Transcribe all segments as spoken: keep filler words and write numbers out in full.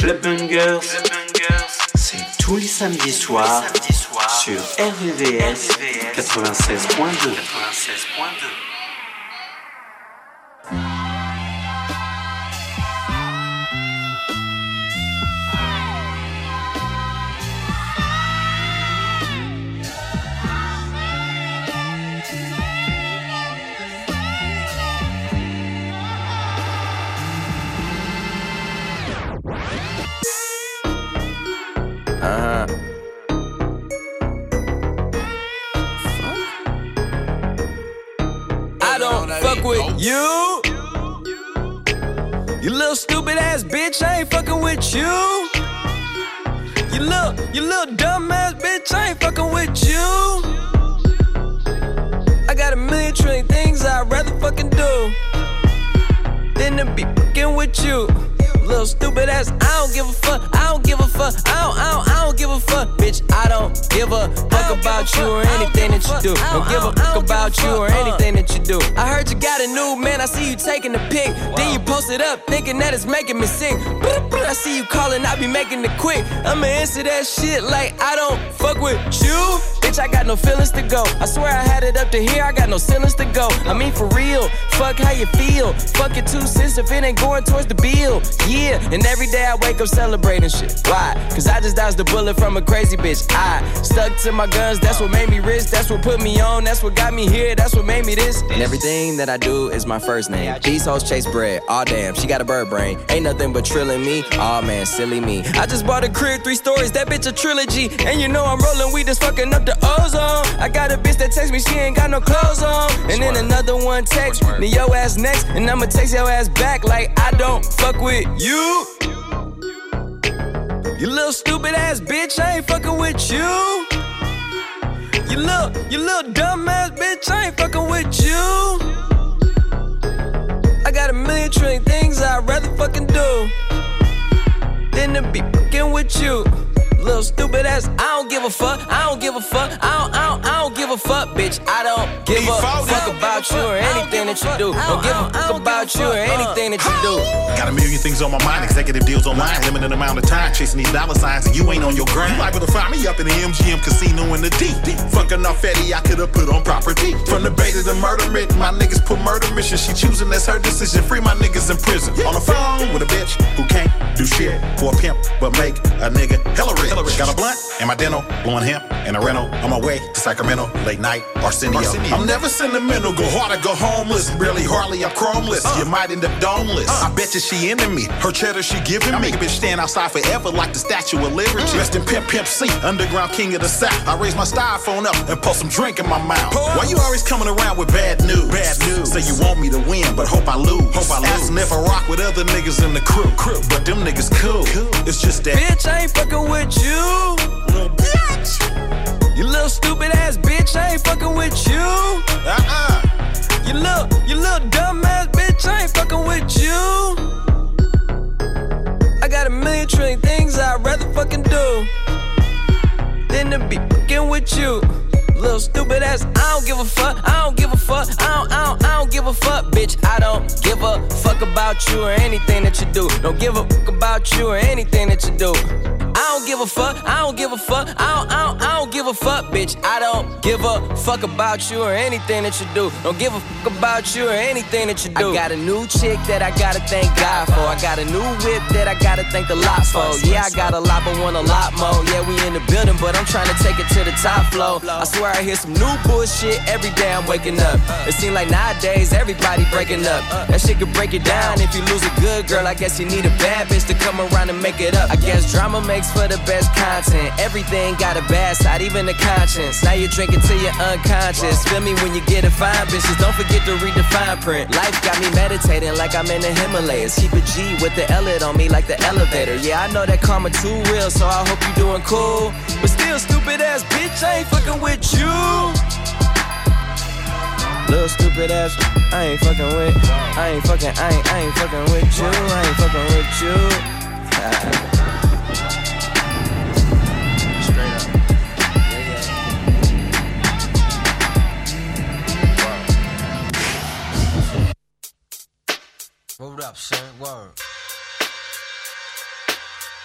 Club Bungers, c'est tous les samedis soirs sur R V V S quatre-vingt-seize point deux. Uh-huh. I don't fuck with you. You little stupid ass bitch, I ain't fucking with you. You little, you little dumb ass bitch, I ain't fucking with you. I got a million trillion things I'd rather fucking do than to be fucking with you. Little stupid ass, I don't give a fuck, I don't give a fuck, I don't, I don't, I don't give a fuck, bitch, I don't give a fuck about you or anything that you do. Don't give a fuck about you or anything that you do. I heard you got a new man, I see you taking the pic, then you post it up, thinking that it's making me sick. I see you calling, I be making it quick. I'ma answer that shit like I don't fuck with you. Bitch, I got no feelings to go. I swear I had it up to here, I got no ceilings to go. I mean for real, fuck how you feel. Fuck your two cents if it ain't going towards the bill. Yeah, and every day I wake up celebrating shit. Why? Cause I just dodged a bullet from a crazy bitch. I stuck to my guns, that's what made me rich. That's what put me on, that's what got me here. That's what made me this. And everything that I do is my first name. These hoes chase bread, aw damn, she got a bird brain. Ain't nothing but trilling me, aw man, silly me. I just bought a crib, three stories, that bitch a trilogy. And you know I'm rolling weed, that's fucking up the ozone. I got a bitch that text me, she ain't got no clothes on. And then another one text me, your ass next. And I'ma text your ass back like I don't fuck with you. You little stupid ass bitch, I ain't fucking with you. You little, you little dumb ass bitch, I ain't fucking with you. I got a million trillion things I'd rather fucking do than to be fucking with you. Little stupid ass, I don't give a fuck, I don't give a fuck, I don't, I don't, I don't give a fuck, bitch, I don't give a fuck about you or anything that you do. Don't give a fuck about you or anything that you do. Got a million things on my mind, executive deals online, limited amount of time, chasing these dollar signs, and you ain't on your grind. You liable to find me up in the M G M casino in the D. Fucking off Fetty, I could've put on property. From the bait to the murder written, my niggas put murder mission. She choosing, that's her decision. Free my niggas in prison. On the phone with a bitch who can't do shit for a pimp, but make a nigga hella rich. Got a blunt and my dental, blowing hemp and a rental. On my way to Sacramento, late night, Arsenio. Arsenio. I'm never sentimental, go hard or go homeless. Barely, hardly, I'm chromeless. Uh. You might end up domeless. Uh. I bet you she into me. Her cheddar she giving me. I make a bitch stand outside forever like the Statue of Liberty. Mm. Rest in Pimp Pimp C, underground king of the South. I raise my styrofoam up and pour some drink in my mouth. Pour. Why you always coming around with bad news? Bad news. Say you want me to win, but hope I lose. Hope I lose. Asking if I rock with other niggas in the crew. crew. But them niggas cool. cool. It's just that. Bitch, I ain't fucking with you. Little bitch. You little stupid ass bitch, I ain't fucking with you. Uh-uh. You little, you little dumb ass bitch, I ain't fucking with you. I got a million trillion things I'd rather fucking do than to be fucking with you. Little stupid ass, I don't give a fuck, I don't give a fuck, I don't, I don't, I don't give a fuck, bitch, I don't give a fuck about you or anything that you do. Don't give a fuck about you or anything that you do. I don't give a fuck, I don't give a fuck, I don't, I don't, I don't give a fuck, bitch, I don't give a fuck about you or anything that you do. Don't give a fuck about you or anything that you do. I got a new chick that I gotta thank God for. I got a new whip that I gotta thank the lot for. Yeah, I got a lot but want a lot more. Yeah, we in the building but I'm trying to take it to the top floor. I swear I hear some new bullshit every day I'm waking up. It seems like nowadays everybody breaking up. That shit could break it down. If you lose a good girl, I guess you need a bad bitch to come around and make it up. I guess drama makes for the best content. Everything got a bad side, even the conscience. Now you're drinking till you're unconscious. Feel me when you get a fine bitches. Don't forget to read the fine print. Life got me meditating like I'm in the Himalayas. Keep a G with the L on me like the elevator. Yeah, I know that karma too real, so I hope you doing cool. But still, stupid ass bitch, I ain't fucking with you. Little stupid ass, I ain't fucking with. I ain't fucking, I ain't, I ain't fucking with you. I ain't fucking with you. Ah. Hold up, son. Word.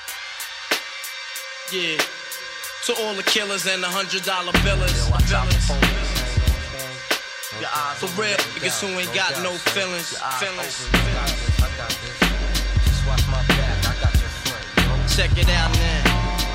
Yeah. To all the killers and the hundred dollar billers. For real, niggas who ain't got no feelings. Feelings. Check it out now.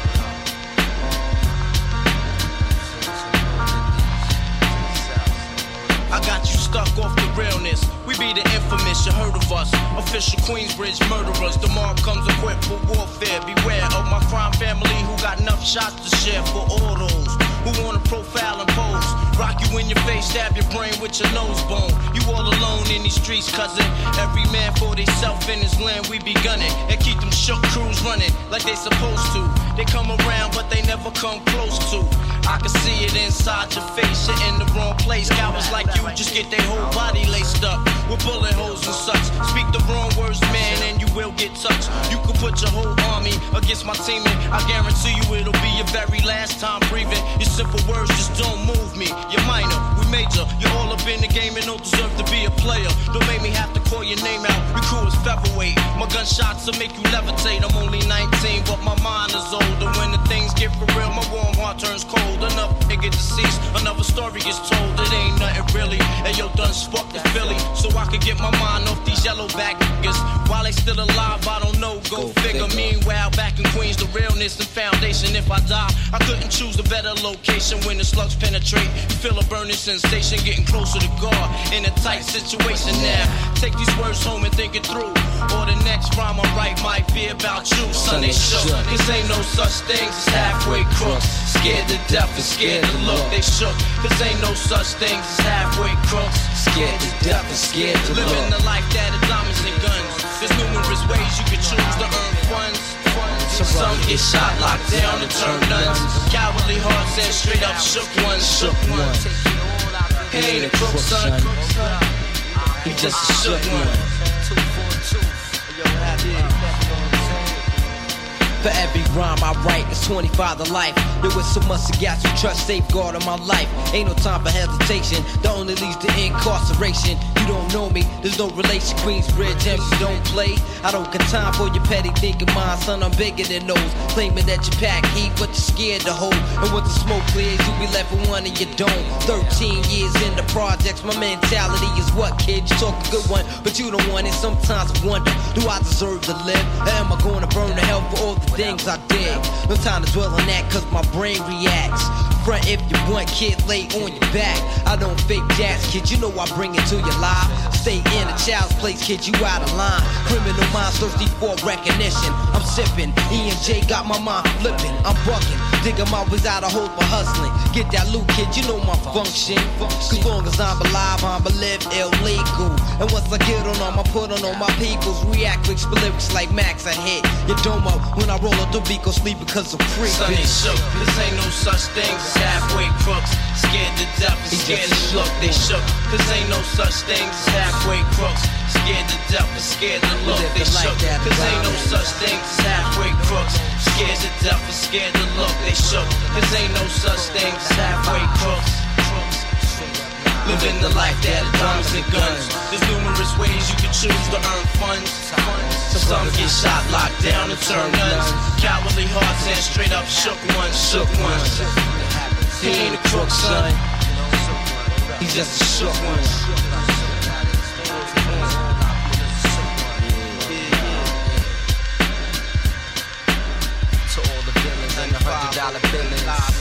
I got you stuck off the realness. We be the infamous, you heard of us. Official Queensbridge murderers. The mob comes equipped for warfare. Beware of my crime family who got enough shots to share for all those who wanna profile and pose. Rock you in your face, stab your brain with your nose bone. You all alone in these streets, cousin. Every man for theyself in his land, we be gunning. And keep them shook crews running like they supposed to. They come around, but they never come close to. I can see it inside your face, you're in the wrong place. Cowards like you just get their whole body laced up with bullet holes and such. Speak the wrong words, man, and you will get touched. You could put your whole army against my team, and I guarantee you it'll be your very last time breathing. Your simple words just don't move me. You're minor, we major. You're all up in the game and don't deserve to be a player. Don't make me have to call your name out. Your crew is featherweight. My gunshots will make you levitate. I'm only nineteen, but my mind is older. When the things get for real, my warm heart turns cold. Another nigga deceased, another story gets told. It ain't nothing really. And yo, done sparked the Philly, so I can get my mind off these yellow back niggas. While they still alive, I don't know. Go, Go figure. figure. Meanwhile, back in Queens, the realness and foundation. If I die, I couldn't choose a better location. When the slugs penetrate, you feel a burning sensation, getting closer to God in a tight situation. Now, take these words home and think it through. Or the next rhyme I write might be about you. Son, they shook. Cause ain't no such things as halfway crooks. Scared to death and scared to look. They shook. Cause ain't no such things as halfway crooks. Scared to death and scared to look. Living the life that is diamonds and guns. There's numerous ways you can choose to earn funds. Some get shot, locked down, and turn nuns. Cowardly hearts and straight up shook ones. Shook ones. He ain't a crook, son. He just a shook one. For every rhyme I write, it's twenty-five to life. There was so much to got you trust, safeguard of my life. Ain't no time for hesitation, the only leads to incarceration. You don't know me, there's no relation. Queensbridge, M C don't play. I don't got time for your petty thinking mind, son, I'm bigger than those. Claiming that you pack heat, but you're scared to hold. And once the smoke clears, you be left with one and you don't. Thirteen years in the projects, my mentality is what, kid? You talk a good one, but you don't want it. Sometimes I wonder, do I deserve to live? Or am I gonna burn to hell for all the things I did? No time to dwell on that, cause my brain reacts. Front if you want, kid, lay on your back. I don't fake jazz, kid, you know I bring it to your life. Stay in a child's place, kid, you out of line. Criminal minds thirsty for recognition. I'm sipping, E and J got my mind flipping. I'm bucking, digging my ways out of hope for hustling. Get that loot, kid, you know my function. Cause long as I'm alive, I'm live illegal. And once I get on them, I put on all my peoples. React with lyrics like Max, I hit your dome up. When I roll up the beat, go sleep because I'm free. Son, they shook, this ain't no such thing as halfway crooks. Scared to death and scared to look, they shook. Cause ain't no such thing as halfway crooks. Scared to death and scared to look, they shook. Cause ain't no such thing as halfway crooks. Scared to death and scared to look, they shook. Cause ain't no such thing as halfway crooks. Living the life that is diamonds and guns. There's numerous ways you can choose to earn funds. Some get shot, locked down, and turn nuns. Cowardly hearts and straight up shook ones, shook ones. He ain't a crook, son. He's just a shook one. To all the villains and the hundred dollar billings.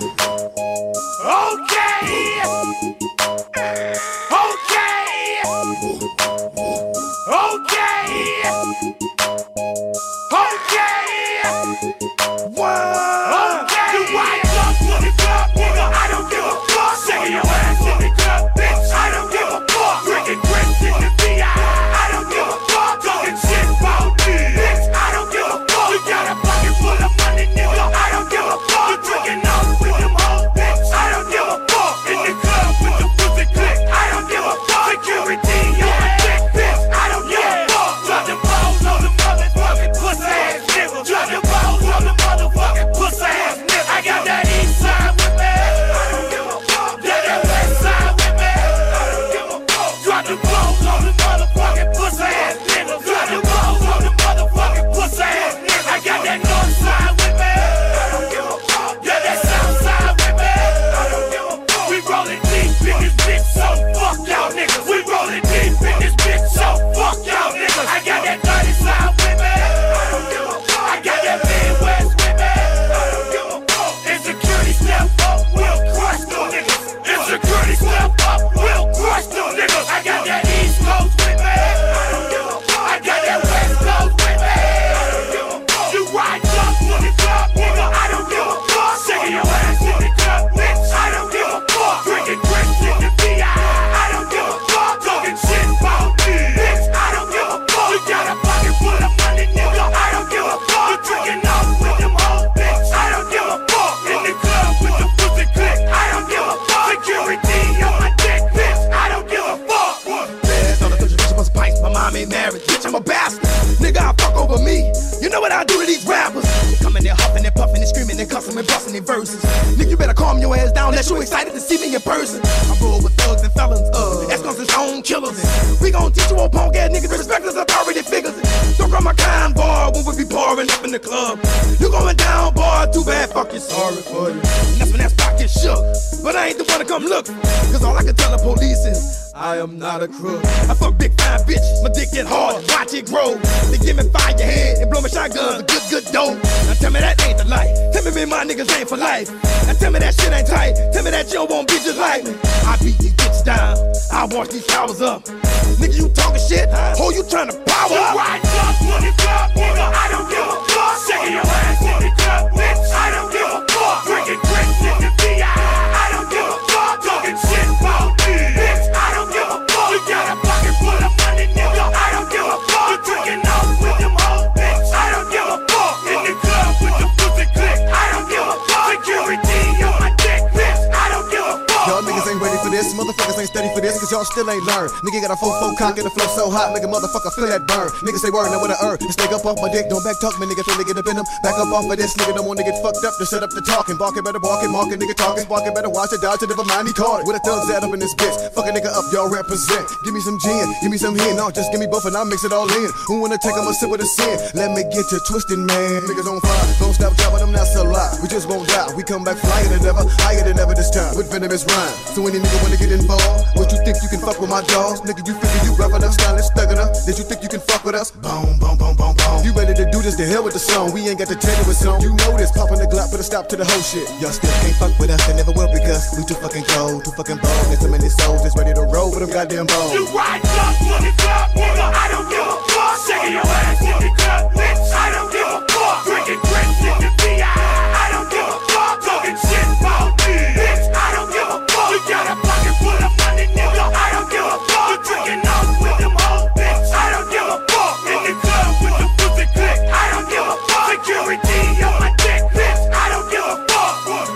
Still ain't learned. Nigga got a four four cock and the flow so hot, make a motherfucker feel that burn. Niggas say word, now what I earn. Just take up off my dick, don't back talk me, nigga. Feel nigga up in them. Back up off of this, nigga. Don't want to get fucked up to set up the talking. Barking better, barking, marking, nigga talking. Barking better, watch it, dodge it, never mind, he caught it. With a thugs out up in this bitch. Fuck a nigga up, y'all represent. Give me some gin, give me some hen. No, just give me both and I'll mix it all in. Who wanna take them a sip of the sin? Let me get you twisted, man. Niggas on fire, don't stop dropping them, not so live. We just won't die. We come back flyer than ever, higher than ever this time. With venomous rhyme. So any nigga wanna get involved, what you think you can fuck with my dogs? Nigga, you figure you rough enough, stylish, thug enough. Did you think you can fuck with us? Boom, boom, boom, boom, boom. You ready to do this? The hell with the song. We ain't got to tell you what's on. You know this, popping the Glock, put a stop to the whole shit. Y'all still can't fuck with us, and never will because we too fucking cold, too fucking bold. There's so many souls that's ready to roll with them goddamn bones. You right up, look it up, nigga. I don't give a fuck. Shaking your ass in the club, bitch. I don't give a fuck. Drinking grits in the V I. I don't give a fuck. Talking shit about me, bitch. I don't give a fuck. You got a pocket full of money, nigga. I don't give a fuck. You drinking out with them hoes, bitch. I don't give a fuck. In the club with the pussy click. I don't give a fuck. Security on my dick, bitch. I don't give a fuck.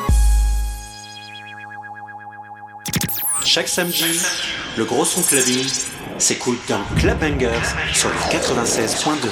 Chaque samedi, le gros son clubbing s'écoute dans Club Bangers sur le quatre-vingt-seize point deux.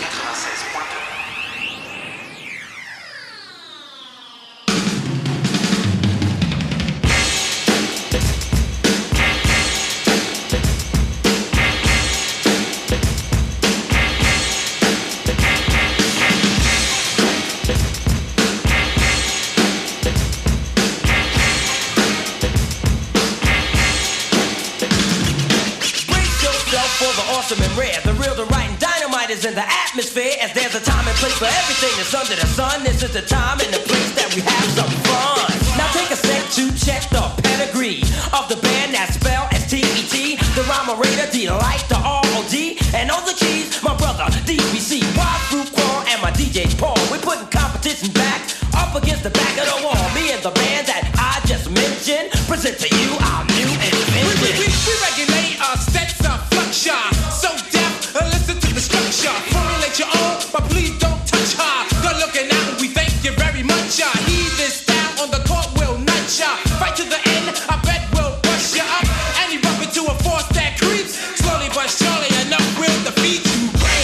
In the atmosphere, as there's a time and place for everything that's under the sun. This is the time and the place that we have some fun. Now take a step present to you our new invention. We, we, we, we regulate our sets of fluxure. So deaf, uh, listen to the structure. Formulate your own, but please don't touch her. Good looking out, and we thank you very much. Uh, heed this style on the court, will nut ya. Fight to the end, I bet we'll bust you up. And you bump into a force that creeps. Slowly but surely, enough will defeat you.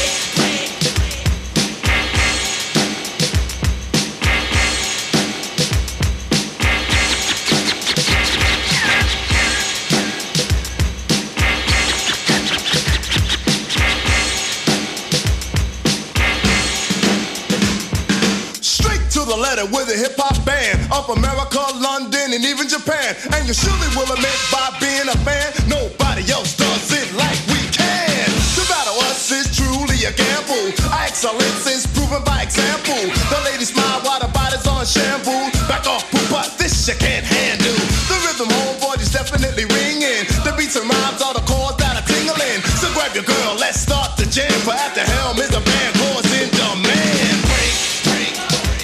With a hip-hop band of America, London, and even Japan. And you surely will admit by being a fan, nobody else does it like we can. To battle us is truly a gamble. Our excellence is proven by example. The ladies smile while the body's on shampoo. Back off, poop, but this you can't handle. The rhythm, homeboy, is definitely ringing. The beats and rhymes are the chords that are tingling. So grab your girl, let's start the jam. For at the helm is a band chords in demand. Break, break.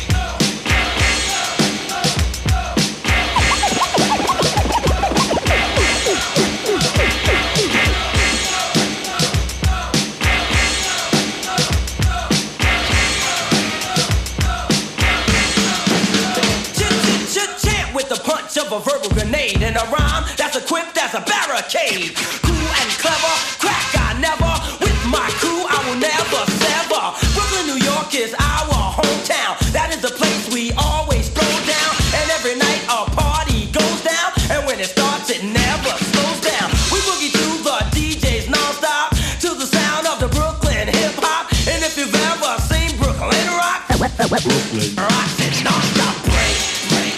Of a verbal grenade and a rhyme that's equipped as a barricade. Cool and clever, crack I never. With my crew I will never sever. Brooklyn, New York is our hometown. That is the place we always throw down. And every night a party goes down. And when it starts it never slows down. We boogie to the D Js non-stop, to the sound of the Brooklyn hip-hop. And if you've ever seen Brooklyn rock, Brooklyn rocks it non-stop. Break, break.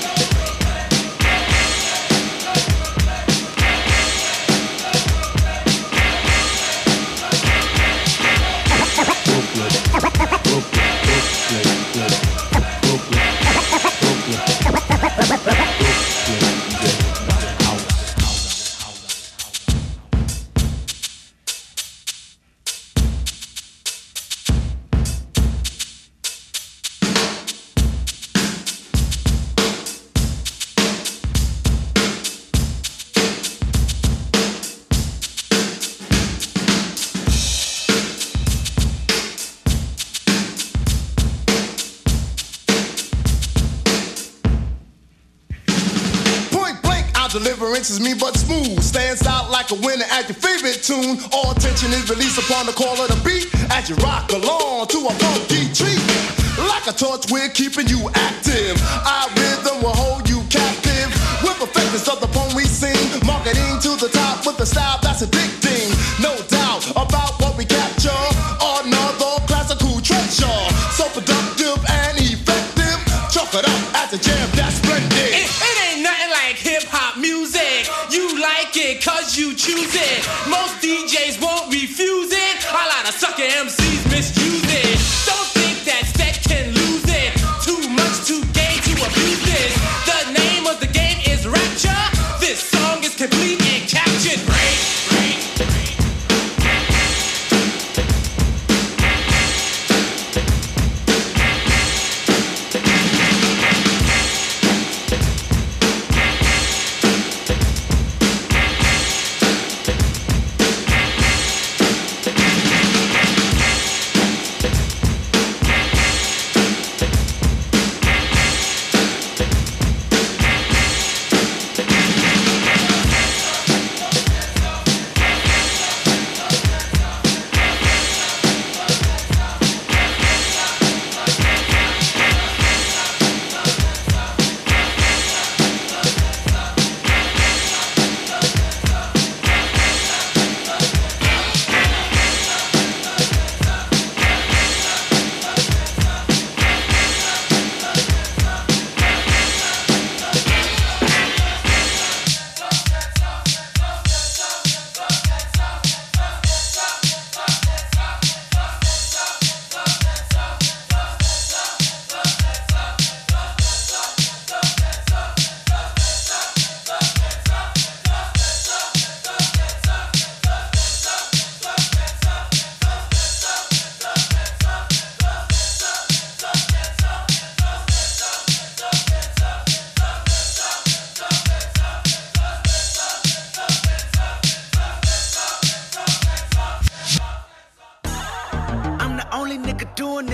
Deliverance is mean but smooth. Stands out like a winner at your favorite tune. All tension is released upon the call of the beat as you rock along to a funky treat. Like a torch, we're keeping you active. Our rhythm will hold you captive. With the effectiveness of the poem we sing. Marketing to the top with a style that's addicting. No doubt about what we capture. Another classical treasure. So productive and effective. Chalk it up at the jam, that's splendid. It, it ain't nothing like hip-hop music. You like it cause you choose it. Most D Js won't refuse it. A lot of sucker M Cs misuse it. Don't think that set can lose it. Too much to gain to abuse this. The name of the game is Rapture. This song is complete and captured. Break, break, break.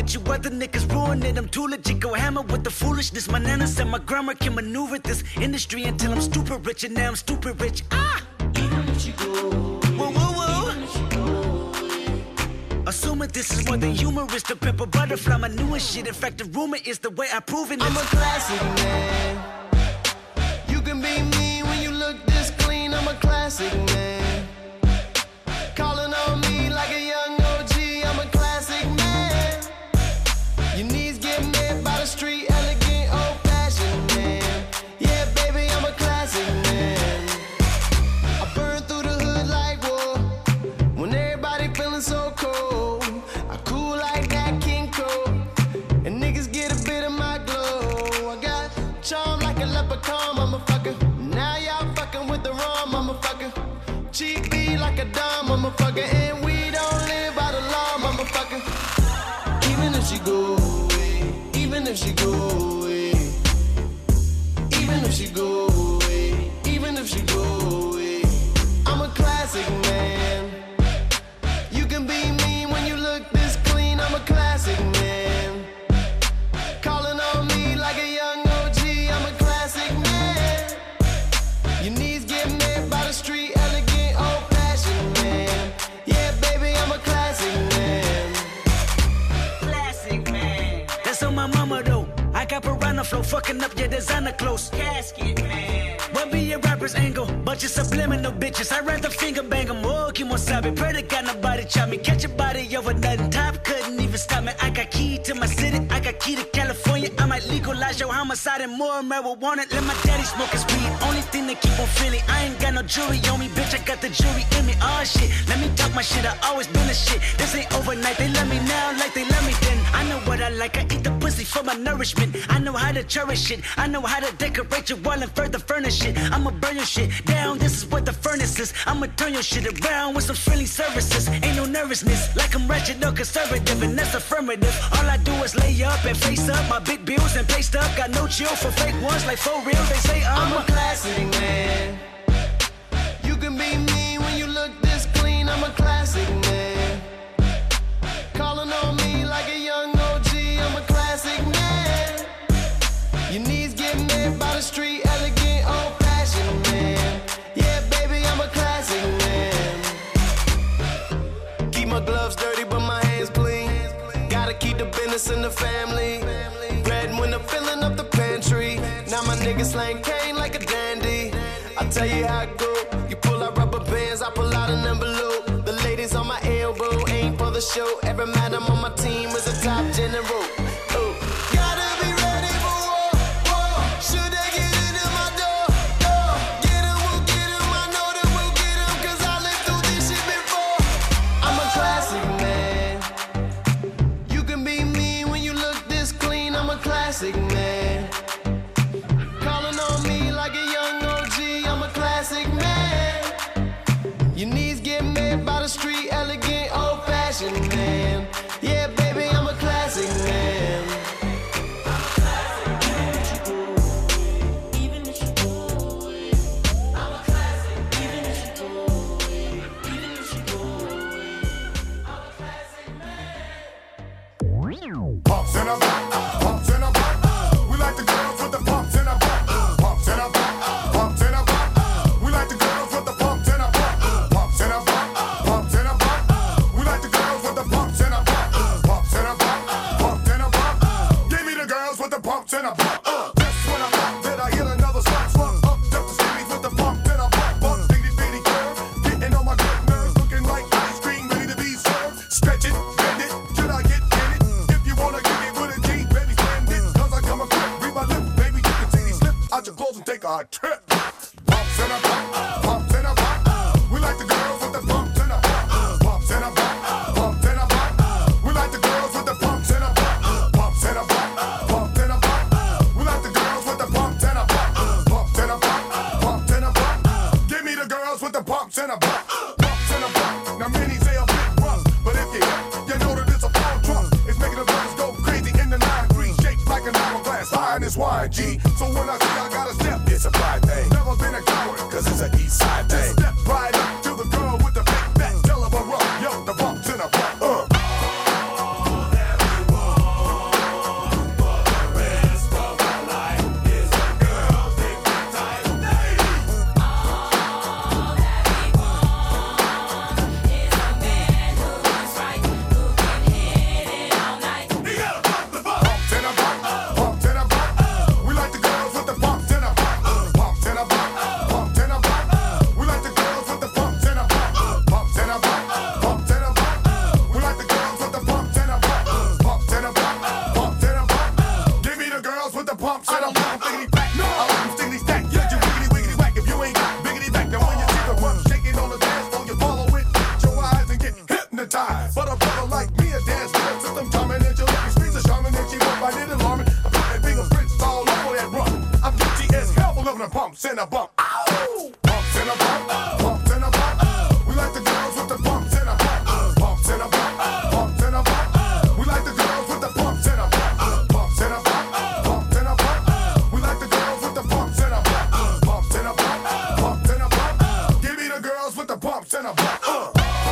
with you other niggas ruining. I'm too legit, go hammer with the foolishness. My nana said my grandma can maneuver this industry until I'm stupid rich, and now I'm stupid rich. Ah! Even if you go, whoa, whoa, whoa. Even if you go, assuming this is more than humorous, the pimp a butterfly, my newest shit. In fact, the rumor is the way I prove it. I'm a classic man. You can be me when you look this clean. I'm a classic man. Calling on me like a young O G. I'm a classic man. Your knees get met by the street, elegant, old-fashioned man. Yeah, baby, I'm a classic man. I burn through the hood like war. When everybody feeling so cold, I cool like that King Cole. And niggas get a bit of my glow. I got charm like a leprechaun, motherfucker. Now y'all fucking with the wrong motherfucker. Cheap beat like a dumb motherfucker. And we don't live by the law, motherfucker. Even if she go away, even if she go away, even if she go away, even if she go away, I'm a classic man. You can be me when you look this clean. I'm a classic man. Calling on me like a young O G. I'm a classic man. Your knees get met by the street, elegant, old-fashioned man. Yeah, baby, I'm a classic man. Classic man. That's on my mama though. I got piranha flow, fucking up your designer clothes. Casket man. What be your rapper's angle? Bunch of subliminal bitches. I rather finger bang them. Oh, Kimosabe. Pray to God nobody chop me. Catch a body over nothing. Top couldn't even stop me. I got key to my city. I got key to California. I might legalize your homicide and more marijuana. Let my daddy smoke his weed. Only thing they keep on feeling. I ain't got no jewelry on me, bitch. I got the jewelry in me. Oh shit. Let me talk my shit. I always been a shit. This ain't overnight. They love me now like they love me then. I know what I like. I eat the pussy for my nourishment. I know how to cherish it. I know how to decorate your wall and further furnish it. I'ma burn your shit down. This is what the furnace is. I'ma turn your shit around with some friendly services. Ain't no nervousness. Like I'm wretched or conservative, and that's affirmative. All I do is lay up and face up my big bills and pay stuff. Got no chill for fake ones like for real. They say I'm, I'm a classic man. You can be me when you look this clean. I'm a classic man. Calling on me like a young O G. I'm a classic man. Your knees get met by the street, elegant, old-fashioned man. Yeah, baby, I'm a classic man. Keep my gloves dirty, but my hands clean. Gotta keep the business in the family. Bread when I'm filling up the pantry. Now my niggas slang cane like a dandy. I tell you how it go. You pull out rubber bands, I pull out an envelope. The ladies on my elbow ain't for the show. Every madam on my team is a top general. Oh, gotta be ready for war, war. Should they get into my door, door? Get 'em, we'll get 'em. I know that we'll get 'em, 'cause I lived through this shit before. I'm a classic man. You can be me when you look this clean. I'm a classic man. Calling on me like a young O G. I'm a classic man. Your knees get met by the street, elegant, old-fashioned man. Yeah, baby, I'm a classic man. Pumps in a back, pumps in a back. We like the girls with the pumps in a back. Pumps in a back, pumps in a back. We like the girls with the pumps in a back. Pumps in a back, pumps in a back. We like the girls with the pumps in a back. Pumps in a back, pumps in a back. Give me the girls with the pumps in a back. Just when I pop, did I hit another slap? Slump up, just the skinnies with the pump in a back. Bump, bitty bitty curve, getting on my good nerves, looking like ice cream ready to be served. Stretch it, bend it, till I get in it. If you wanna give me with a G, baby, stand it. 'Cause I come equipped, read my lips, baby, you can see me slip out your clothes and take a trip. Pumps in a back, pumps in a back. We like the girls with the pumps in a back. Pumps in a back, pumps in a back. We like the girls with the pumps in a back. Pumps in a back, pumps in a back. We like the girls with the pumps in a back. Pumps in a back, pumps in a back. Give me the girls with the pumps in a back. Pumps in a back. Now many say a bit rough, but if you hit, you know that it's a full drum. It's making the brothers go crazy in the nine three, shaped like an hourglass, high in this Y G. So when I say I got a step, it's a pride thing. Never been a coward, 'cause it's an east side Bumps in a bump, bumps in a bump. We like the girls with the bumps in a bump. Bumps in a bump, bumps in a bump. We like the girls with the bumps in a bump. Bumps in a bump, bumps in a bump. We like the girls with the bumps in a bump. Bumps in a bump, bumps in a bump. Give me the girls with the bumps in a bump. Uh.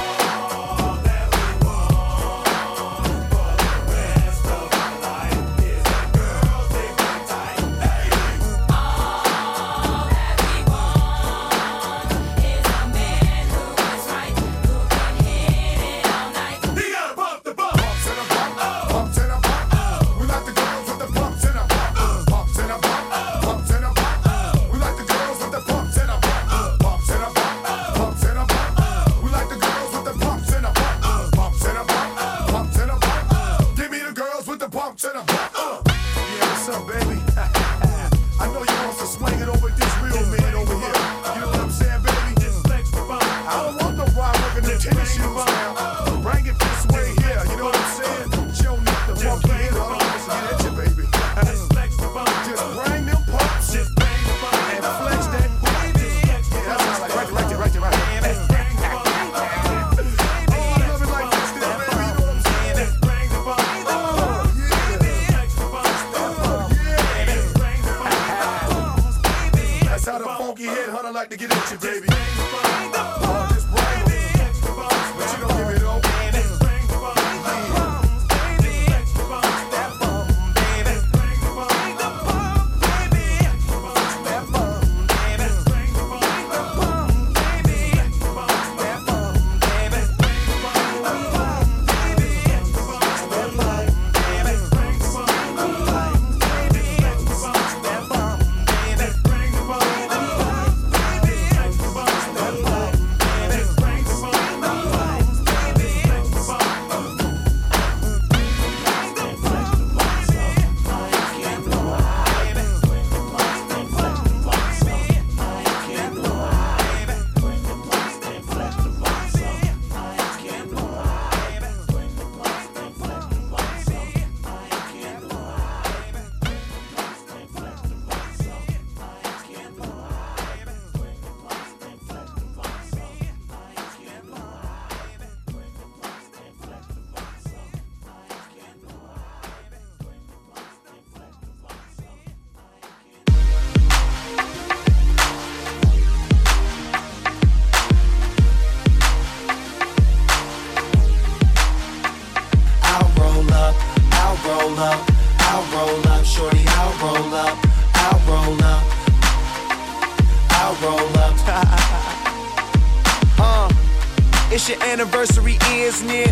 It's your anniversary, isn't it?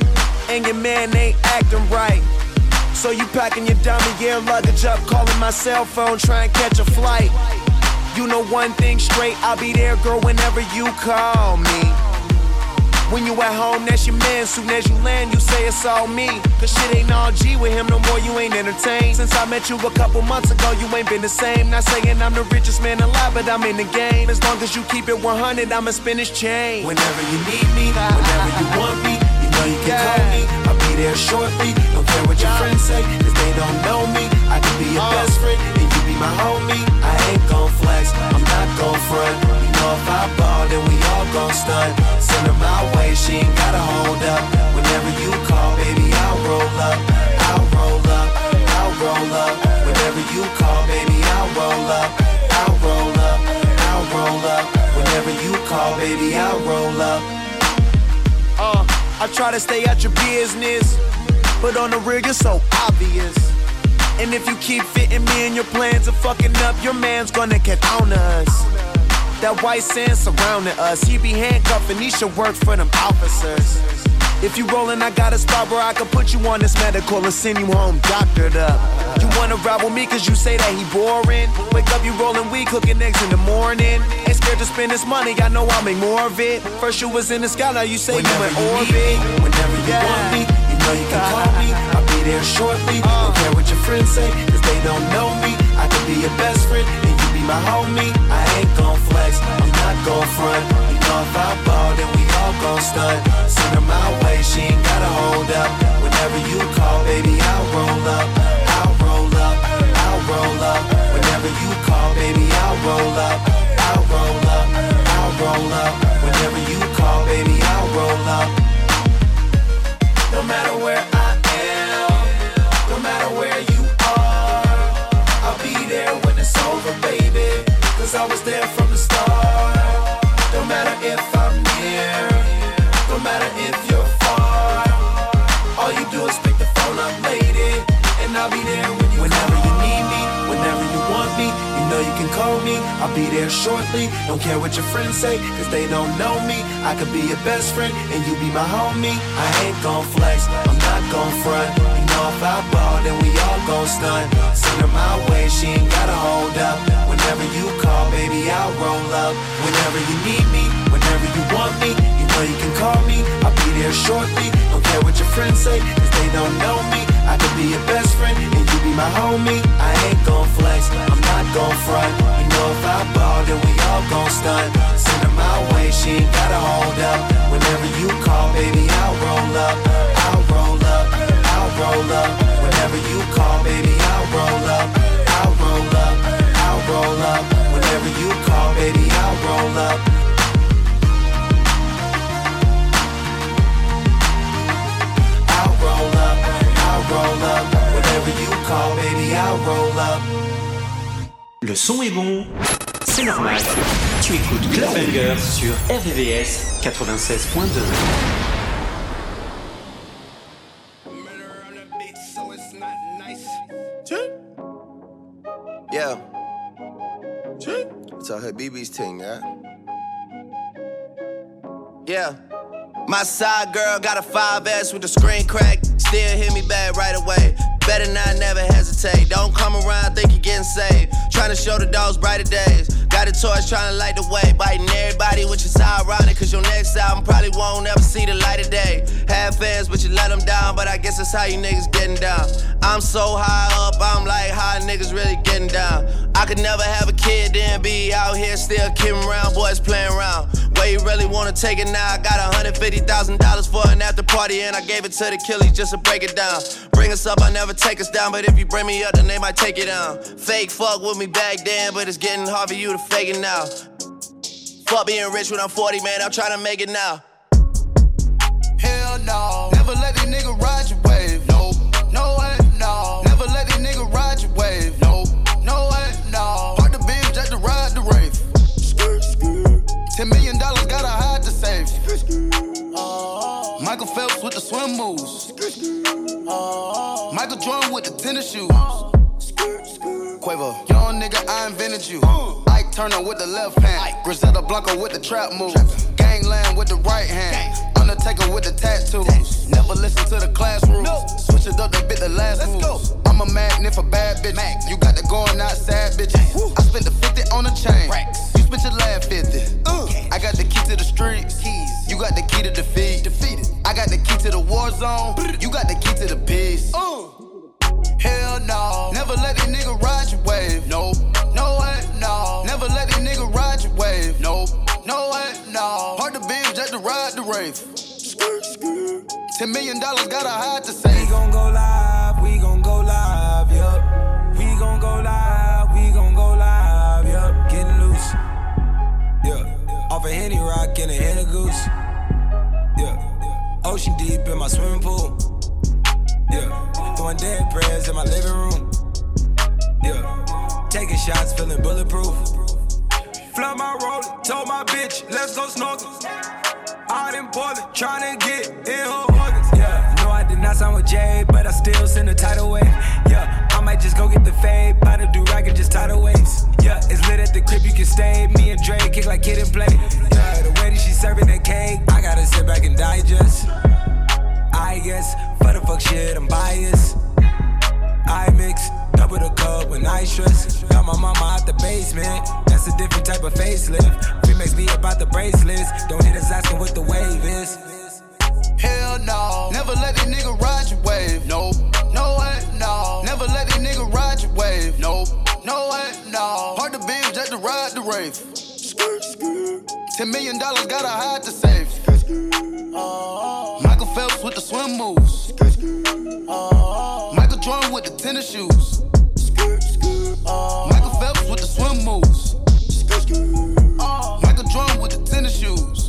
And your man ain't acting right. So you packing your dummy gear luggage up, calling my cell phone, trying to catch a flight. You know one thing straight, I'll be there, girl, whenever you call me. When you at home, that's your man. Soon as you land, you say it's all me. Cause shit ain't all G with him no more, you ain't entertained. Since I met you a couple months ago, you ain't been the same. Not saying I'm the richest man alive, but I'm in the game. As long as you keep it one hundred, I'ma spin his chain. Whenever you need me, whenever you want me, you know you can call me. I'll be there shortly, don't care what your friends say, cause they don't know me. I can be your best friend, and you be my homie. I ain't gon' flex, I'm not gon' front. You know if I ball, then we all gon' stunt. Send her my way, she ain't gotta hold up. Whenever you call, baby, I'll roll up. I'll roll up, I'll roll up. Whenever you call, baby, I'll roll up. I'll roll up, I'll roll up. Whenever you call, baby, I'll roll up. Uh, I try to stay out your business, but on the real, you're so obvious. And if you keep fitting me in your plans of fucking up, your man's gonna get on us. That white sand surrounding us, he be handcuffing, he should work for them officers. If you rollin', I got a spot where I can put you on this medical and send you home doctored up. You wanna ride with me cause you say that he boring. Wake up, you rollin' weed, cooking eggs in the morning. Ain't scared to spend this money, I know I'll make more of it. First you was in the sky, now you say whenever you in orbit. Me, whenever you yeah. want me, you know you can call me. I'll be there shortly, uh. don't care what your friends say, cause they don't know me. I can be your best friend, and you be my homie. I ain't gon' flex, I'm not gon' front. You know if I ball, then we all gon' stunt. Send her my way, she ain't gotta hold up. Whenever you call, baby, I'll roll up. I'll roll up, I'll roll up. Whenever you call, baby, I'll roll up. I'll roll I'll be there shortly. Don't care what your friends say, cause they don't know me. I could be your best friend, and you be my homie. I ain't gon' flex, I'm not gon' front. You know if I ball, then we all gon' stunt. Send her my way, she ain't gotta hold up. Whenever you call, baby, I'll roll up. Whenever you need me, whenever you want me, you know you can call me. I'll be there shortly. Don't care what your friends say, cause they don't know me. I could be your best friend, and you be my homie. I ain't gon' flex, I'm not gon' front. You know if I ball, then we all gon' stunt. Send her my way, she ain't gotta hold up. Whenever you call, baby, I'll roll up. I'll roll up, I'll roll up. Whenever you call, baby, I'll roll up. I'll roll up, I'll roll up. Whenever you call, baby, I'll roll up. I'll roll up, I'll roll up. Whenever you call, baby, I'll roll up. Le son est bon, c'est normal. Tu écoutes Clubbanger sur R V V S quatre-vingt-seize point deux. Yeah. It's a Habibi's thing, yeah? Yeah. My side girl got a five S with the screen crack. Still hit me back right away. Better not never hesitate. Don't come around, think you're getting saved. Trying to show the dogs brighter days. Got a torch trying to light the way. Biting everybody, which is ironic, cause your next album probably won't ever see the light of day. Have fans, but you let them down. But I guess that's how you niggas getting down. I'm so high up, I'm like, how niggas really getting down? I could never have a kid, then be out here still kidding around, boys playing around. Where you really wanna take it now? I got one hundred fifty thousand dollars for an after party, and I gave it to the killies just to break it down. Bring us up, I never take us down, but if you bring me up, then they might take it down. Fake fuck with me back then, but it's getting hard for you to fake it now. Fuck being rich when I'm forty, man, I'm trying to make it now. Hell no, never let these niggas ride your wave. No, no way, no. Never let these niggas ride your wave. No, no way, no. Park the beam just to ride the rave. Ten million dollars gotta hide to save. Uh, Michael Phelps with the swim moves. Uh, Michael Jordan with the tennis shoes. Quavo, young nigga, I invented you. Ike Turner with the left hand. Griselda Blanco with the trap move. Gangland with the right hand. Undertaker with the tattoos. Never listen to the classroom. Switch it up, they bit the last moves. I'm a magnet for bad bitches. You got the going outside bitches. I spent the fifty on a chain. You spent your last fifty. I got the key to the streets. You got the key to defeat. Defeated. I got the key to the war zone. You got the key to the peace. Hell no. Never let these niggas ride your wave. No, no way, no. Never let these niggas ride your wave. No, no way, no. Hard to beam just to ride the rave. Ten million dollars gotta hide to save. We gon' go live, we gon' go live, yup. We gon' go live, we gon' go live, yup. Getting loose, yeah. Off a Henny Rock and a Henny Goose, yeah. Ocean deep in my swimming pool, yeah. Throwing dead prayers in my living room, yeah. Taking shots, feeling bulletproof. Flood my roller, told my bitch, let's go snorkel. Out in Portland, tryna get in her organs, yeah. No, I did not sign with Jay, but I still send a tidal wave, yeah. I might just go get the fade, by the do-rag and just tidal waves, yeah. It's lit at the crib, you can stay. Me and Dre kick like kid and play, yeah. The way that she serving that cake, I gotta sit back and digest. I guess, for the fuck shit, I'm biased. I mix, double the cup when I stress. Got my mama out the basement, that's a different type of facelift. Remix be about the bracelets, don't hit us asking what the wave is. Hell no, never let these niggas ride your wave. No, no way, no. Never let these niggas ride your wave. No, no way, no. Hard to beam just to ride the rave. Ten million dollars gotta hide to save. Uh, Michael Phelps with the swim moves. Uh, Michael Jordan with the tennis shoes. Uh, Michael Phelps with the swim moves. Uh, Michael Jordan with the tennis shoes.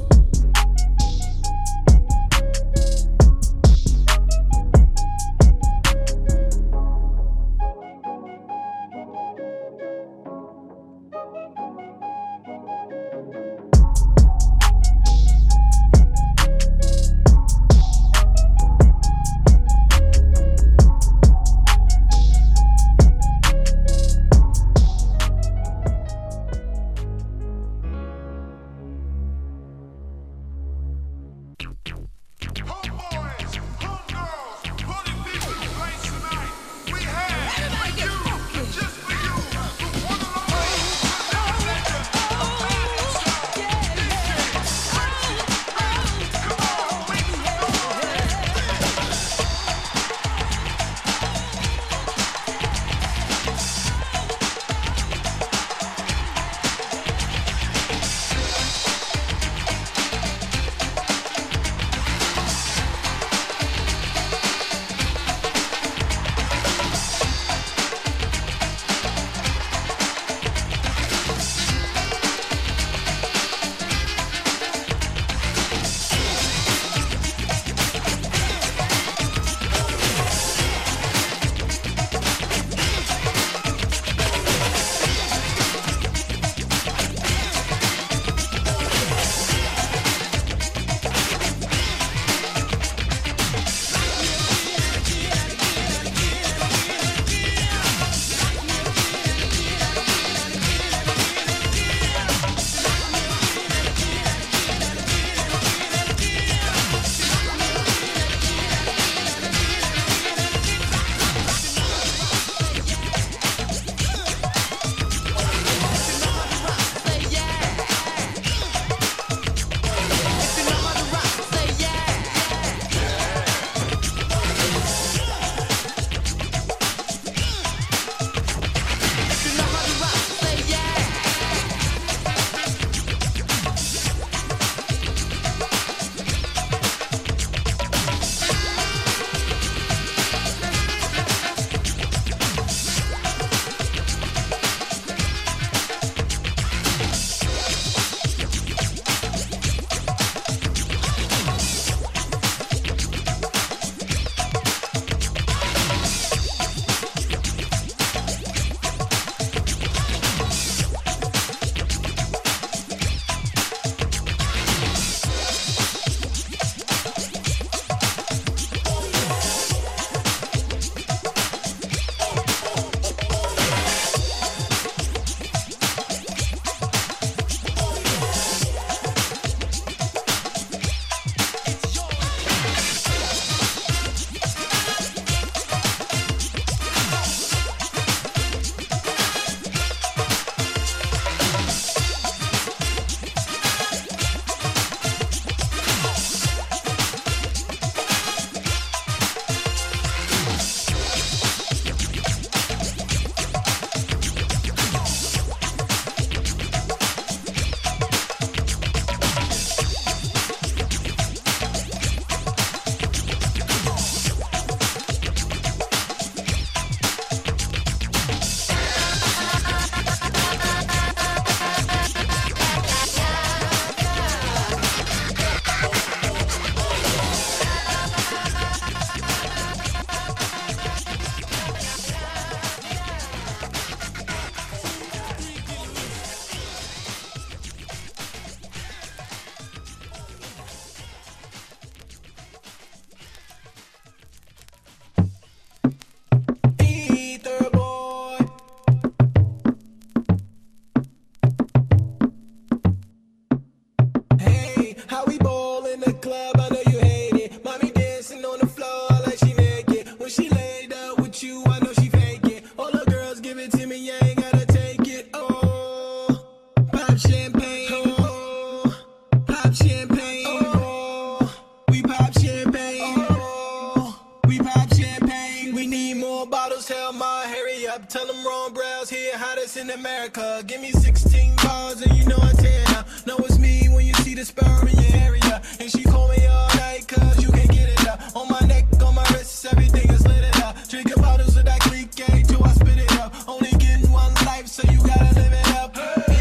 in America. Give me sixteen bars and you know I tear now. Know it's me when you see the sperm in your area. And she call me all night cause you can't get it up. On my neck, on my wrists, everything is lit it up. Drinking bottles of that Greek egg till I spit it up. Only getting one life so you gotta live it up.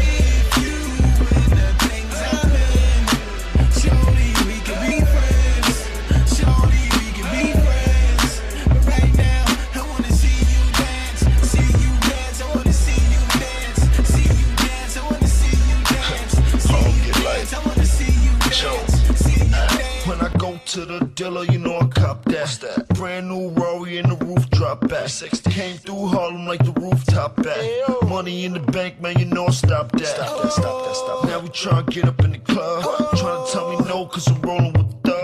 If you in the things I'm in, surely we can be friends. Surely we can be friends. But right now, I wanna see you dance. See you dance, I wanna see you dance. See you dance, I wanna see you dance. See you dance, I wanna see you dance. See you dance. When I go to the dealer, you know I cop that. that. Brand new Rory in the roof drop back. Came through Harlem like the rooftop back. Money in the bank, man, you know I stop that. Stop that, stop that, stop that. Now we tryna get up in the club. Tryna tell me no, cause I'm rolling with the thug.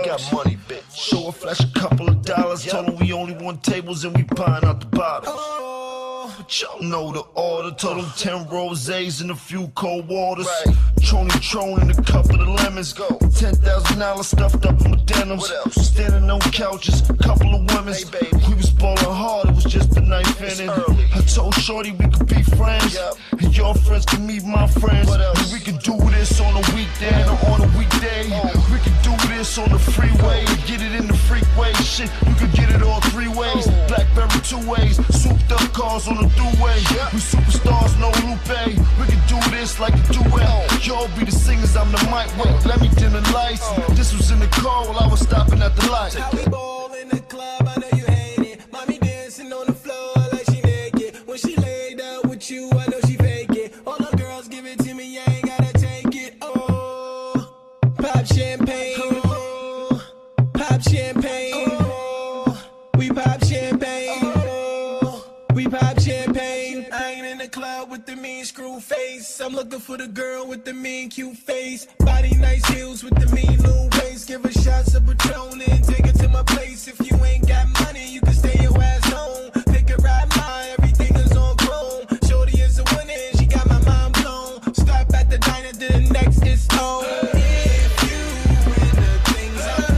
flash a couple of dollars. Told him we only want tables and we buying out the bottles. But y'all know the order. Told him ten rosés and a few cold waters. Right. Trony Tron and a couple of lemons. Go. Ten thousand dollars stuffed up in my denims. What else? Standing on couches, couple of women. Hey, baby. We was ballin' hard, it was just the ninth inning. I told Shorty we could be friends. Yep. And your friends can meet my friends. What else? And we can do this on a weekday or on a weekday. Oh. We can do this on the freeway. Get it in the freeway. Shit, you can get it all three ways. Oh. Blackberry two ways. Souped up cars on the throughway. Yep. We superstars, no Lupe. We can do this like a duet. Oh. Y'all be the singers, I'm the mic. Wait, let me dim the lights. Oh. This was in the car while I was stopping at the light. How we ball in the club, I know you hate it. Mommy dancing on the floor like she naked. When she laid out with you, I know she fake it. All the girls give it to me, I ain't gotta take it. Oh, pop champagne. Oh, pop champagne. Oh, we pop champagne. Oh, we pop champagne. I ain't in the club with the mean screw face. I'm looking for the girl with the mean cute face. Body nice heels with the mean little waist. Give her shots of Patron and take it to my place. If you ain't got money, you can stay your ass home. Pick a ride, mine, everything is on chrome. Shorty is a winner and she got my mind blown. Stop at the diner, then the next is home. If you in the things I'm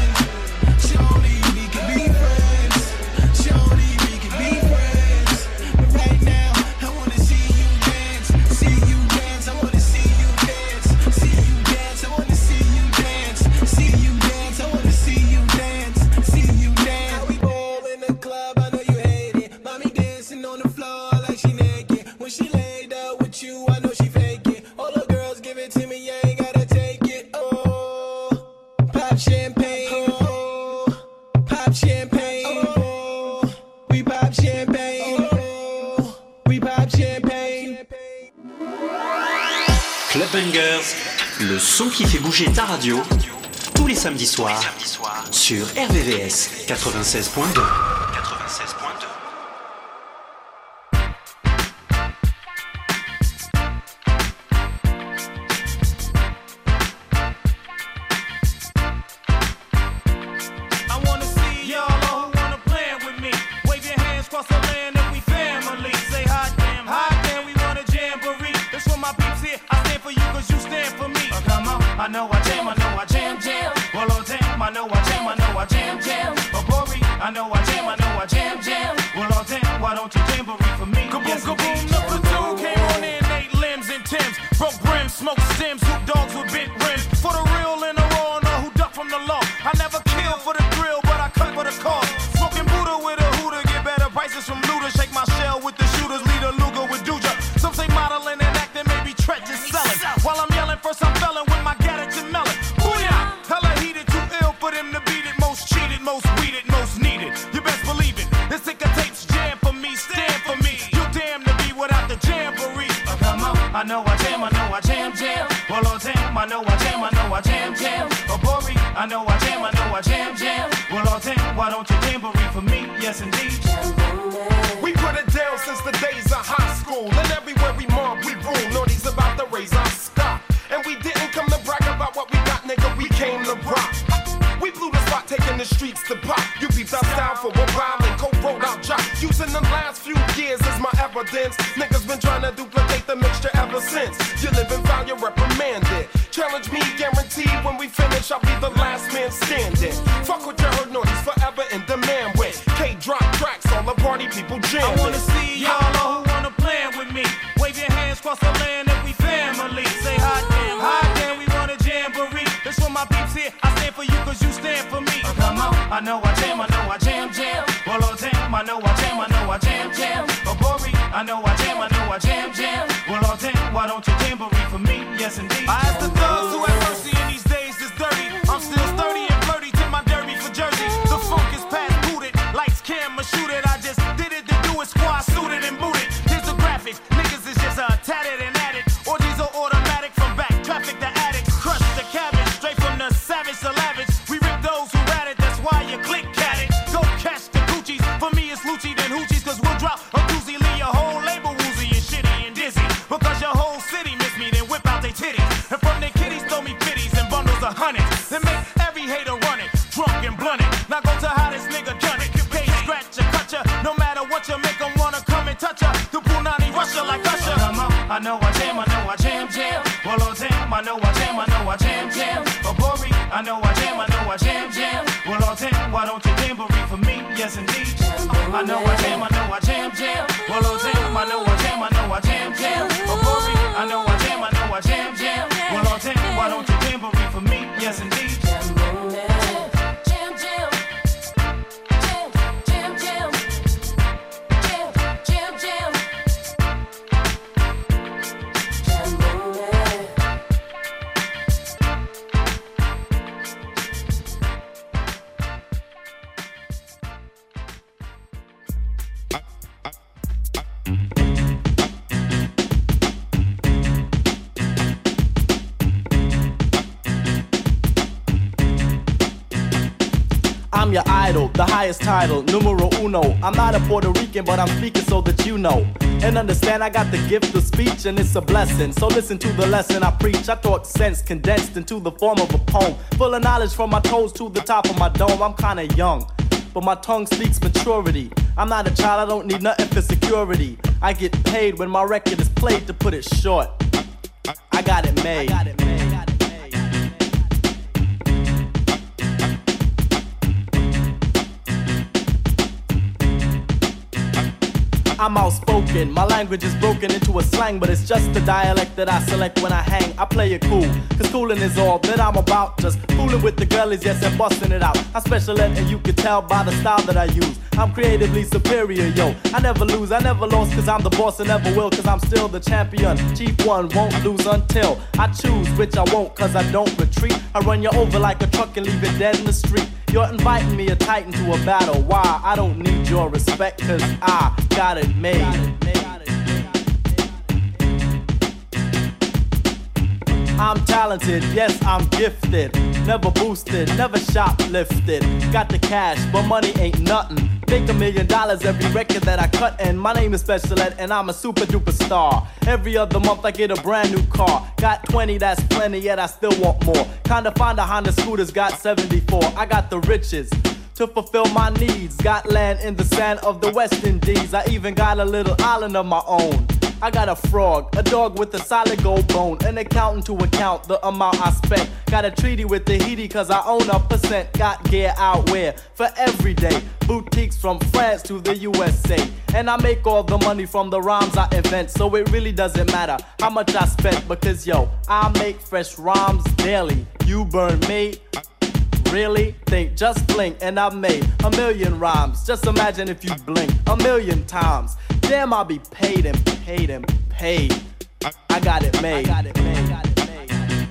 in, shorty, we can be friends. Shorty, we can be friends. But right now, I wanna see you dance. See you dance, I wanna see you dance. See you dance, I wanna see you dance. See you dance, I wanna see you dance. See you dance. How we ball in the club, I know you hate it. Mommy dancing on the floor like she naked. When she laid out with you, I know she fake it. All the girls give it to me, I ain't gotta take it. Oh, pop champagne. Oh, pop champagne. Oh, we pop champagne. Oh, we pop champagne. Club Bangers, le son qui fait bouger ta radio, tous les samedis soirs, sur R V V S quatre-vingt-seize point deux. quatre-vingt-seize point deux. I wanna see y'all all who wanna plan with me. Wave your hands across the land if we family. Say hot damn, hot damn, we want a jamboree. That's for my peeps here. I stand for you cause you stand for me. Uh, come on, I know I jam, I know I jam, jam. Well, oh damn, I know I jam, I know I jam, jam. Oh, Bori, I know I jam, I know I jam, jam. Well, oh damn, why don't you jamboree for me? Kaboom, yes, kaboom, number two came on in eight limbs and Timbs. Broke brims, smoked stems, hoop dogs with bent rims. For the real and the raw, know who duck from the law. I never kill for the thrill, but I cut for the cause. Smoking Buddha with a hooter, get better prices from looters. Shake my shell with the shooters, lead a Luger with Duja. Some say modeling and acting, maybe treacherous selling. While I'm yelling, first I'm felling with my gadgets and melon. Booyah! Hella heated, too ill for them to beat it. Most cheated, most weeded, most needed. You best believe it. This ticker tapes jam for me, stand for me. You damn to be without the jamboree. Oh, come on, I know I jam, I know I jam, jam. Well, oh damn, I know I jam, I know I jam, jam. Oh, Bori, I know I jam, I know I jam, jam. Well, oh damn, why don't you jamboree for me? Yes, indeed. We put it down since the days of high school. And everywhere we mob, we rule. Naughty's about to raise our stock. And we didn't come to brag about what we got, nigga. We came to rock. We blew the spot, taking the streets to pop. You beat our style for a while and co-wrote our job. Using the last few years as my evidence. Niggas been trying to duplicate the mixture ever since. You live and foul, you're reprimanded. Challenge me, guaranteed when we finish, I'll be the last man standing. Fuck what you heard, Naughty's forever in demand with. K-drop tracks, all the party people jamming. I wanna see y'all all who wanna plan with me. Wave your hands across the land if we family. Say hot damn, hot damn, we want a jamboree. That's for my peeps here. I stand for you cause you stand for me. Oh, come on, I know I jam, I know I jam, jam. Well, oh damn, I know I jam, I know I jam, jam. Oh, Bori, I know I jam, I know I jam, jam. Well, oh damn, why don't you jamboree for me? Yes, indeed. I ask the thugs who have mercy in these days is dirty. I'm still sturdy and flirty to my derby for Jersey. The funk is past booted, lights, camera, shoot it. I just did it to do it, squad suited and booted. Here's the graphics, niggas is just uh, tatted and added. Orgies are automatic from back, traffic to addict. Crush the cabbage, straight from the savage to lavish. We rip those who rat it, that's why you click at it. Go catch the Gucci's, for me it's Lucci then Hoochies. Cause we'll drop a doozy, leave your whole label woozy and shitty and dizzy. Because your whole city miss me, then whip out they titties. And from the I know I jam, I know I jam, jam. Abori, I know I jam, I know I jam, jam. Well, all ten, why don't you jamboree for me? Yes, indeed. I know I jam, I know I jam, jam. Well, all ten, I know I jam, I know I jam, jam. Abori, I know I jam, I know I jam, jam. Well, all ten, why don't you jamboree for me? Yes, indeed. I'm your idol, the highest title, numero uno. I'm not a Puerto Rican, but I'm speaking so that you know. And understand I got the gift of speech and it's a blessing. So listen to the lesson I preach. I talk sense condensed into the form of a poem. Full of knowledge from my toes to the top of my dome. I'm kinda young, but my tongue speaks maturity. I'm not a child, I don't need nothing for security. I get paid when my record is played, to put it short. I got it made. I got it made. I'm outspoken, my language is broken into a slang, but it's just the dialect that I select when I hang. I play it cool, cause coolin' is all that I'm about. Just fooling with the girlies, yes, and busting it out. I'm special ed and you can tell by the style that I use. I'm creatively superior, yo. I never lose, I never lost, cause I'm the boss and never will, cause I'm still the champion. Chief one won't lose until I choose, which I won't, cause I don't retreat. I run you over like a truck and leave it dead in the street. You're inviting me a titan to a battle. Why? I don't need your respect, cause I got it made. I'm talented, yes, I'm gifted. Never boosted, never shoplifted. Got the cash, but money ain't nothing. Make a million dollars every record that I cut, and my name is Special Ed, and I'm a super duper star. Every other month I get a brand new car. Got twenty, that's plenty, yet I still want more. Kinda find a Honda Scooter's got seventy-four. I got the riches to fulfill my needs. Got land in the sand of the West Indies. I even got a little island of my own. I got a frog, a dog with a solid gold bone, an accountant to account the amount I spent. Got a treaty with Tahiti cause I own a percent. Got gear out where for every day. Boutiques from France to the U S A. And I make all the money from the rhymes I invent. So it really doesn't matter how much I spent, because yo, I make fresh rhymes daily. You burn me? Really? Think, just blink and I made a million rhymes. Just imagine if you blink a million times. Damn, I'll be paid and paid and paid. I got it made. I got it made. Got it made.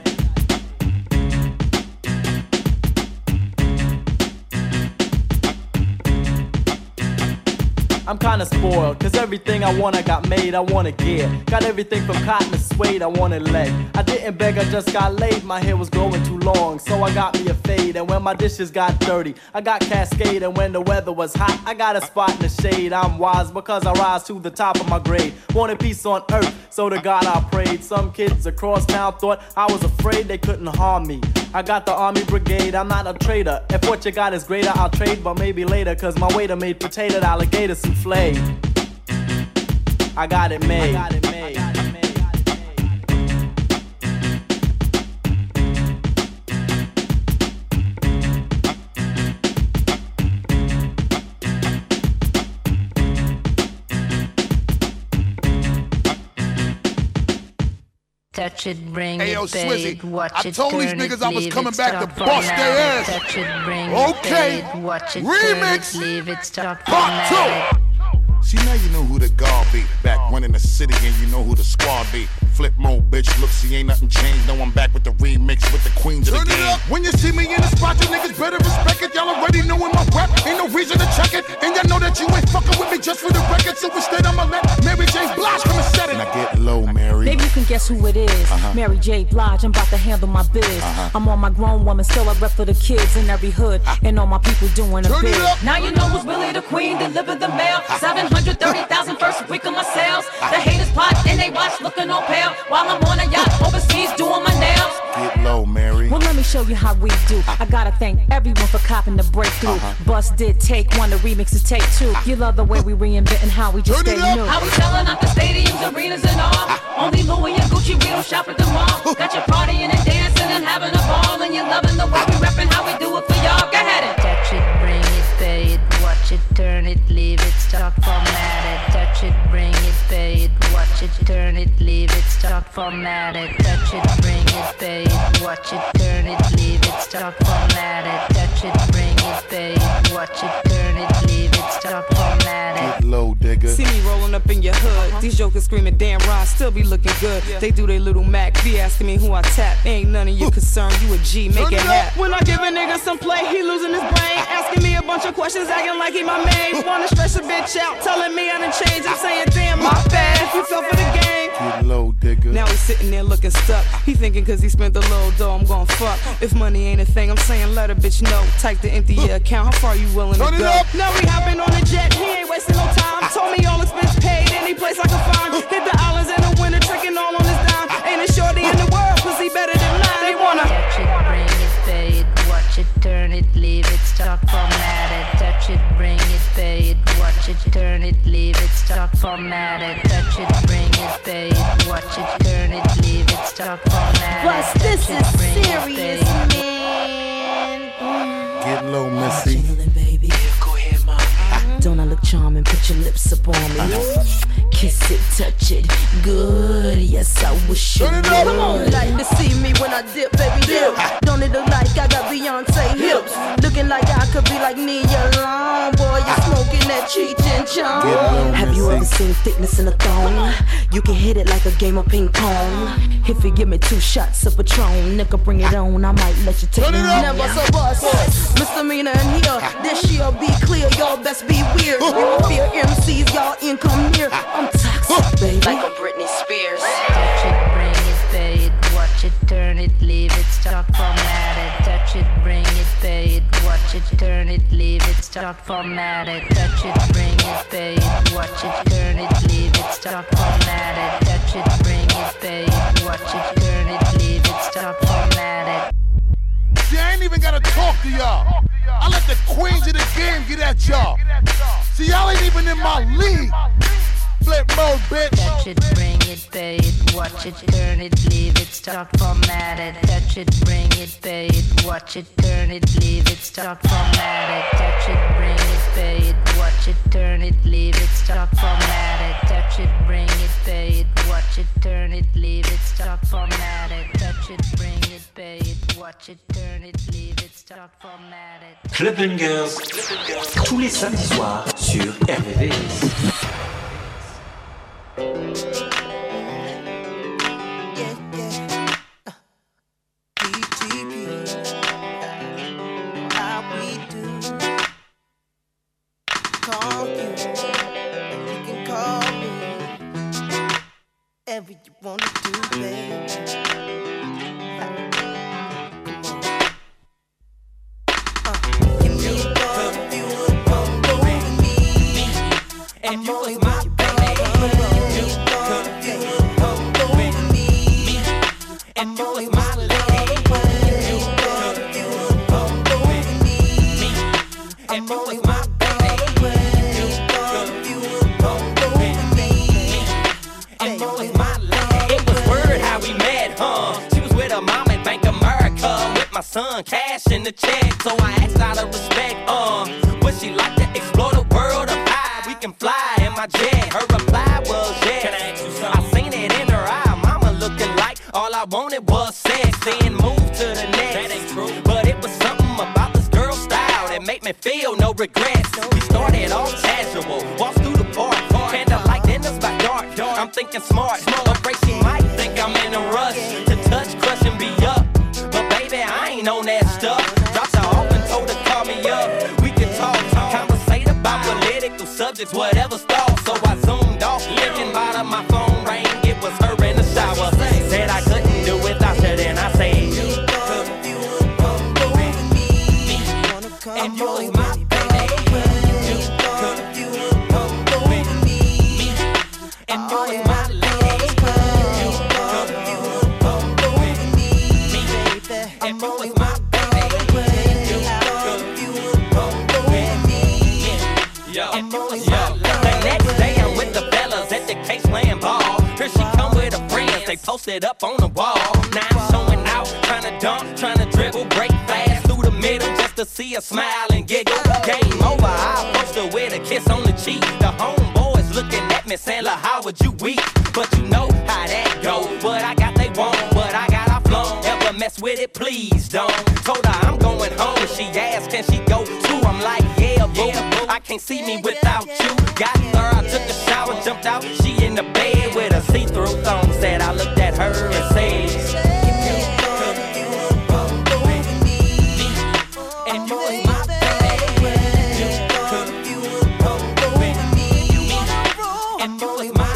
I'm kinda spoiled, cause everything I want I got made, I wanna get. Got everything from cotton to suede, I wanted leg. I didn't beg, I just got laid, my hair was growing too long, so I got me a fade. And when my dishes got dirty, I got Cascade. And when the weather was hot, I got a spot in the shade. I'm wise because I rise to the top of my grade. Wanted peace on earth, so to God I prayed. Some kids across town thought I was afraid they couldn't harm me. I got the army brigade, I'm not a traitor. If what you got is greater, I'll trade, but maybe later, cause my waiter made potato alligator souffle. I got it made. I got it made. Touch it, bring hey, yo, it, Swizzy, it, watch I it, told these niggas it, I was coming back to bust their ass. Touch it, bring okay. it, watch it, remix, it, leave it, start part two. See, now you know who the guard be. Back one in the city and you know who the squad be. Flip mode, bitch, look, see, ain't nothing changed. No, I'm back with the remix with the queens of the game. Turn it up. When you see me in the spot, you niggas better respect it. Y'all already knowin' my rap, ain't no reason to check it. And y'all know that you ain't fucking with me just for the record. So instead, I'ma let Mary J. Blige come and set it. Now get low, Mary. Maybe you can guess who it is. Uh-huh. Mary J. Blige, I'm about to handle my biz. Uh-huh. I'm on my grown woman, still I rep for the kids in every hood. Uh-huh. And all my people doing a bid. Now you know who's really the queen, deliver the mail. seven hundred thirty thousand first week of my sales. The haters plot and they watch looking all pale while I'm on a yacht overseas doing my nails. Get low, Mary. Well, let me show you how we do. I gotta thank everyone for copping the breakthrough. Bust did take one, the remix is take two. You love the way we reinventing how we just stay new. How we selling out the stadiums, arenas, and all. Only Louis and Gucci, we don't shop at the mall. Got you partying and dancing and having a ball, and you loving the way we reppin' how we do it for y'all. Go ahead and touch it, bring it, pay it, watch it, turn it, leave it, start formatted. Touch it, bring it, pay it, watch it, turn it, leave it, start formatted. Touch it, bring it, pay it, watch it, turn it, leave it, start formatted. Touch it, bring it, pay it, watch it, turn it, leave it, start formatted. Get low, digger. See me rolling up in your hood. These jokers screaming, damn, Ron still be looking good. They do their little Mac, be asking me who I tap. Ain't none of your concern, you a G, make it happen. When I give a nigga some play, he losing his brain. Asking me a bunch of questions, acting like he my main. Wanna stress a bitch out, telling me I done changed. I'm saying, damn, my bad, if you fell for the game. Get low, digger. Now he's sitting there looking stuck. He thinking cause he spent the little dough, I'm gon' fuck. If money ain't a thing, I'm saying let a bitch know. Type the empty your account, how far you willing to go? Now we hopping on the jet, he ain't wasting no time. Told me all expense paid, any place I can find. Hit the islands in the winter, tricking all on his dime. Ain't a shorty in the world, pussy better than mine. They wanna touch it, bring it, pay it, watch it, turn it, leave it, start formatted. Touch it, bring it, pay it, watch it, turn it, leave it, start formatted. Touch it, bring it, pay it, watch it, turn it, leave it, start formatted. Plus, this is serious, man. Get low, Missy. Don't I look charming? Put your lips up on me. Kiss it, touch it, good. Yes, I wish you would. Come on, like to see me when I dip, baby dip. Don't it look like I got Beyonce hips? Looking like I could be like Nia Long. Boy, you smoking that Cheech and Chong. Have you ever seen thickness in a thong? You can hit it like a game of ping pong. If you give me two shots of Patron, nigga, bring it on. I might let you take it on. Never so bust. Misdemeanor in here. This year be clear. Y'all best be weird. You don't fear M Cs. Y'all income here. I'm toxic, baby. Like a Britney Spears. Touch it, bring it, pay it, watch it, turn it, leave it, start formatted. Touch it, bring it, pay it, watch it, turn it, leave it, start formatted. Touch it, bring it, pay it, watch it, turn it, leave it, start formatted. Touch it, bring it, pay it, watch it, turn it, leave it, start formatted. See, I ain't even gotta talk to y'all. I let the queens of the game get at y'all. See, y'all ain't even in my league. Flip mode, bitch. Touch it, bring it, pay it, watch it, turn it, leave it, start formatted. Touch it, bring it, pay it, watch it, turn it, leave it, start formatted. Touch it, bring it, pay it, watch it, turn it, leave it, start formatted. Touch it, bring it, pay it, watch it, turn it, leave it, start formatted. Touch it, bring it, pay it, watch it, turn it, leave it, start formatted. Club Bungers, tous les samedis soirs sur R V V S. Whatever you wanna do, baby. Uh, give me a call if you would come go with me. And you was my baby. Give me a call if you would come go with me. And you was my lady. Give me a call if you would come go with me. And you was my baby. Give me a call if you would come go with me. And you was my my son, cash in the check, so I asked out of respect, uh, would she like to explore the world of high? We can fly in my jet. Her reply was yes. Can I ask you something? I seen it in her eye, mama looking like all I wanted was sex. Then move to the next. That ain't true. But it was something about this girl's style that made me feel no regrets. We started off casual, walked through the park, candlelight dinners by dark. I'm thinking smart, afraid she might think I'm in a rush to touch, crush, and be up. I ain't on that stuff. Dropped her off and told her call me up. We can talk, conversate about political subjects, whatever's thought. So I zoomed off, looking bottom, my phone rang. It was her in the shower. Said I couldn't do without her, then I said, and you was my baby. And you was my lady. And you was my posted up on the wall. Now I'm showing out, trying to dunk, trying to dribble, break fast through the middle just to see her smile and giggle. Game over, I approached her with a kiss on the cheek. The homeboys looking at me saying, look, how would you weep? But you know how that go. What I got they want, what I got I flown. Ever mess with it, please don't. Told her I'm going home. She asked, can she go too? I'm like, yeah, boo. I can't see me without you. Got her, I took a shower, jumped out. She in the bed with a see-through thong. Said I looked at her and said, and you was my baby. And you was my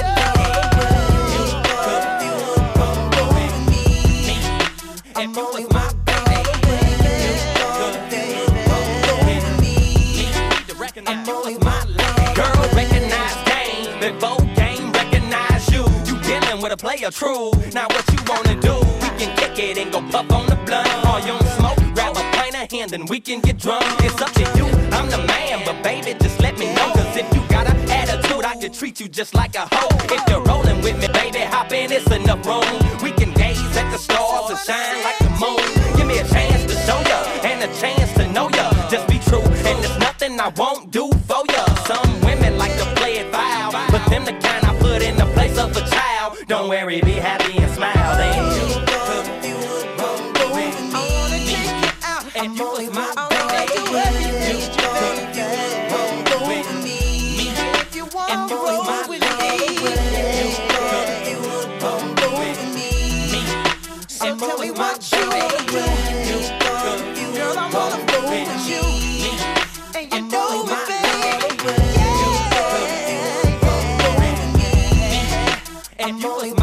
and you was my and you was my girl, recognize game before game recognize you. You dealing with a player true. Now what you wanna do? We can kick it and go puff on the blunt. Or you don't smoke, grab a pint of hand and we can get drunk. It's up to you, I'm the man, but baby just let me know. Cause if you got an attitude, I could treat you just like a hoe. If you're rolling with me, baby, hop in, it's enough room. We can gaze at the stars and shine like the moon. Give me a chance to show ya and a chance to know ya. Just be true and there's nothing I won't do for ya. Some women like to play it foul, but them the kind I put in the place of a child. Don't worry, be happy and smile. Then you and you was my baby. And you was my lady. And you was my baby. Girl, I wanna go with you. And you know my baby. And you was